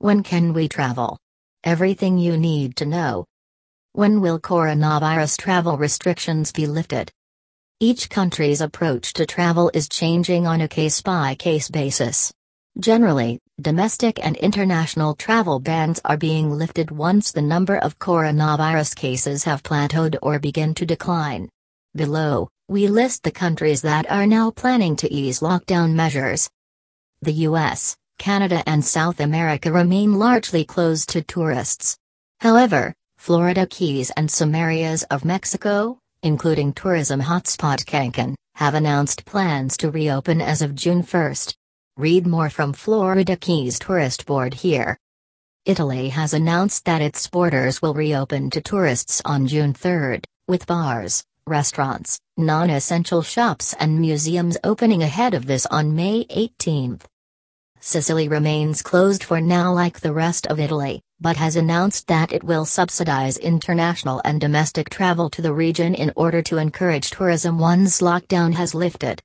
When can we travel? Everything you need to know. When will coronavirus travel restrictions be lifted? Each country's approach to travel is changing on a case-by-case basis. Generally, domestic and international travel bans are being lifted once the number of coronavirus cases have plateaued or begin to decline. Below, we list the countries that are now planning to ease lockdown measures. The US, Canada and South America remain largely closed to tourists. However, Florida Keys and some areas of Mexico, including tourism hotspot Cancun, have announced plans to reopen as of June 1. Read more from Florida Keys Tourist Board here. Italy has announced that its borders will reopen to tourists on June 3, with bars, restaurants, non-essential shops and museums opening ahead of this on May 18. Sicily remains closed for now like the rest of Italy, but has announced that it will subsidize international and domestic travel to the region in order to encourage tourism once lockdown has lifted.